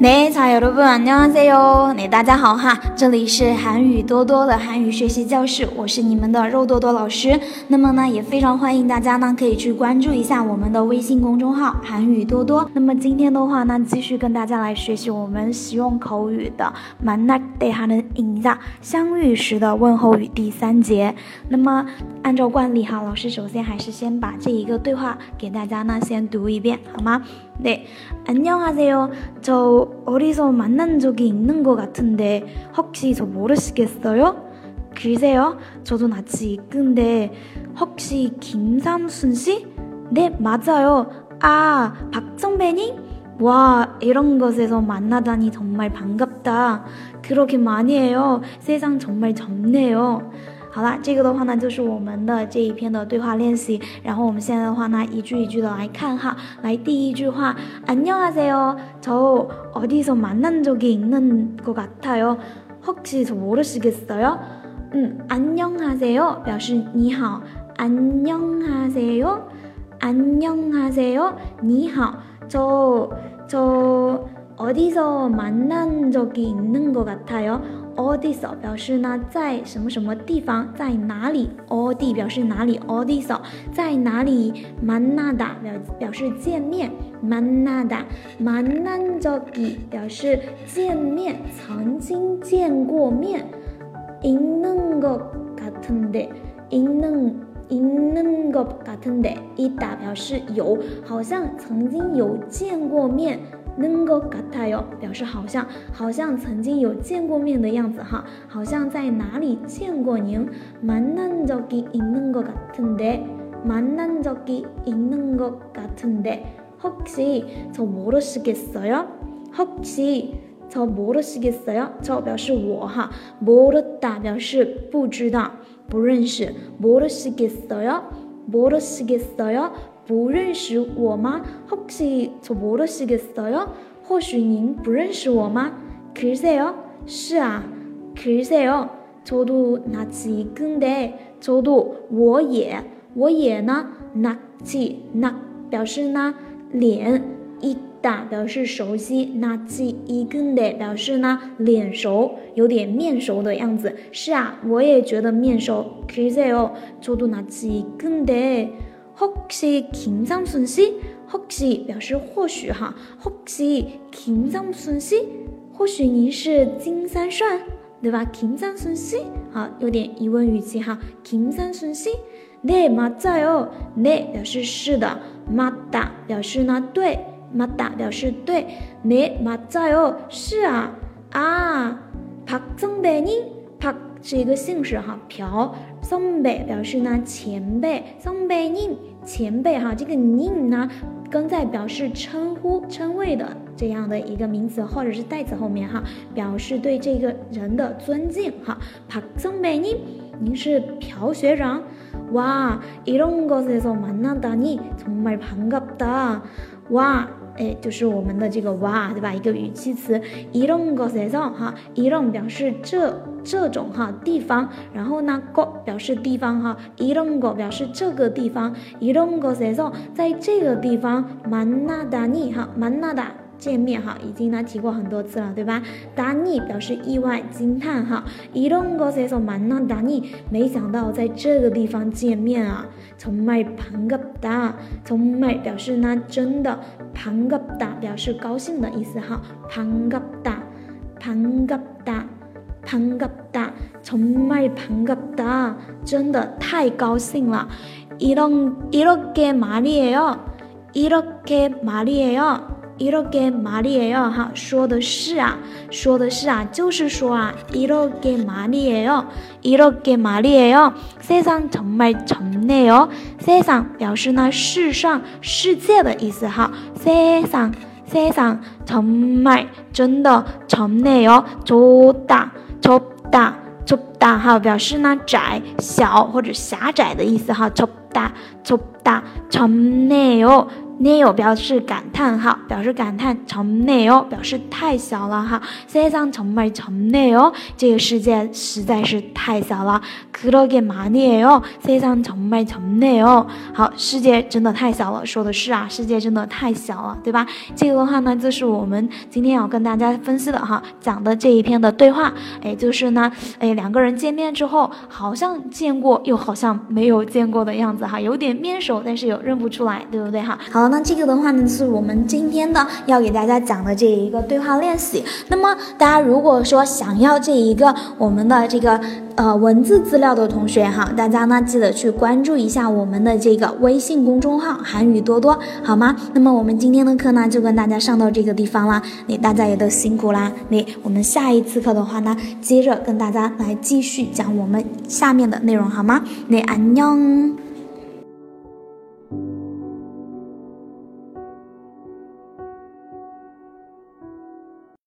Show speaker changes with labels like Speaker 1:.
Speaker 1: 네， 자 여러분 안녕하세요。大家好哈，这里是韩语多多的韩语学习教室，我是你们的肉多多老师。那么呢，也非常欢迎大家呢可以去关注一下我们的微信公众号韩语多多。那么今天的话呢，继续跟大家来学习我们实用口语的만날 때 하는 인사，相遇时的问候语第3节。那么按照惯例哈，老师首先还是先把这一个对话给大家呢先读一遍，好吗？네, 안녕하세요. 저 어디서 만난 적이 있는 것 같은데 혹시 저 모르시겠어요? 글쎄요, 저도 낯이 익은데 혹시 김삼순 씨? 네, 맞아요. 아, 박 선배님? 와, 이런 곳에서 만나다니 정말 반갑다. 그렇게 많이 해요. 세상 정말 좁네요. 好啦，这个的话呢就是我们的这一篇的对话练习，然后我们现在的话呢一句一句的来看哈。来，第一句话，안녕하세요. 저 어디서 만난 적이 있는 것 같아요. 혹시 저 모르시겠어요? 안녕하세요 表示你好，안녕하세요， 안녕하세요， 你好。저 어디서 만난 적이 있는 것 같아요. 어디서 表示呢在什么什么地方，在哪里。어디 表示哪里， 어디서 在哪里。만나다 表示见面， 만나다 만난 적이 表示见面，曾经见过面。있는 것 같은데 있는 것 같은데 있다 表示有，好像曾经有见过面。는 것 같아요 表示好像曾经有见过面的样子哈，好像在哪里见过您。만난 적이 있는 것 같은데 만난 적이 있는 것 같은데 혹시 저 모르시겠어요? 혹시 저 모르시겠어요? 저 表示我哈，모르다 表示不知道不认识。모르시겠어요? 모르시겠어요? 不认识我吗？ 혹시 저 모르시겠어요? 或许您不认识我吗？ 글쎄요? 是啊 글쎄요? 저도 낯이 익은데 저도 我也呢 낯이 表示呢脸， 익다 表示熟悉， 낯이 익은데 表示呢脸熟，有点面熟的样子。是啊，我也觉得面熟。 글쎄요? 저도 낯이 익은데 혹시 김삼순 씨? 혹시 表示或许哈， 혹시 김삼순 씨? 或许您是金三顺，对吧？ 김삼순 씨? 好，有点疑问语气哈。 김삼순 씨? 네, 맞아요. 네 表示是的， 맞다 表示呢对， 맞다 表示对， 네, 맞아요 是啊。啊，박 선배님? 박是一个姓氏哈，朴。선배表示呢前辈， 선배님前辈哈，这个님呢跟在表示称呼称谓的这样的一个名词或者是代词后面哈，表示对这个人的尊敬哈。박 선배님， 您是朴学长。哇，이런 곳에서 만나다니 정말 반갑다。哇，就是我们的这个哇，对吧？一个语气词。이런 곳에서哈，이런表示这种哈地方，然后呢곳表示地方哈，이런 곳表示这个地方，이런 곳에서在这个地方만나다니哈，만나다见面哈，已经呢提过很多次了，对吧？다니表示意外惊叹哈，이런 곳에서 만나다니没想到在这个地方见面啊。정말 반갑다， 정말表示呢真的， 반갑다表示高兴的意思哈。반갑다 반갑다 반갑다 정말 반갑다 真的太高兴了。이렇게 말이에요 이렇게 말이에요哈，说的是啊，就是说啊。이렇게 말이에요 세상 정말 좁네요。 세상表示呢世上世界的意思哈。세상 정말真的좁네요 좁다哈，表示呢窄小或者狭窄的意思哈。좁다 덥다 덥네요 네요表示感叹哈，表示感叹좁네요表示太小了哈，세상 정말 좁네요这个世界实在是太小了，그러게 말이에요 세상 정말 좁네요好，世界真的太小了，说的是啊，世界真的太小了，对吧？这个的话呢，就是我们今天要跟大家分析的哈，讲的这一篇的对话，就是呢，两个人见面之后，好像见过又好像没有见过的样子哈，有点面熟，但是又认不出来，对不对哈？好，那这个的话呢，是我们今天的要给大家讲的这一个对话练习。那么大家如果说想要这一个我们的这个文字资料的同学哈，大家呢记得去关注一下我们的这个微信公众号韩语多多，好吗？那么我们今天的课呢就跟大家上到这个地方啦，大家也都辛苦啦，我们下一次课的话呢，接着跟大家来继续讲我们下面的内容，好吗？안녕。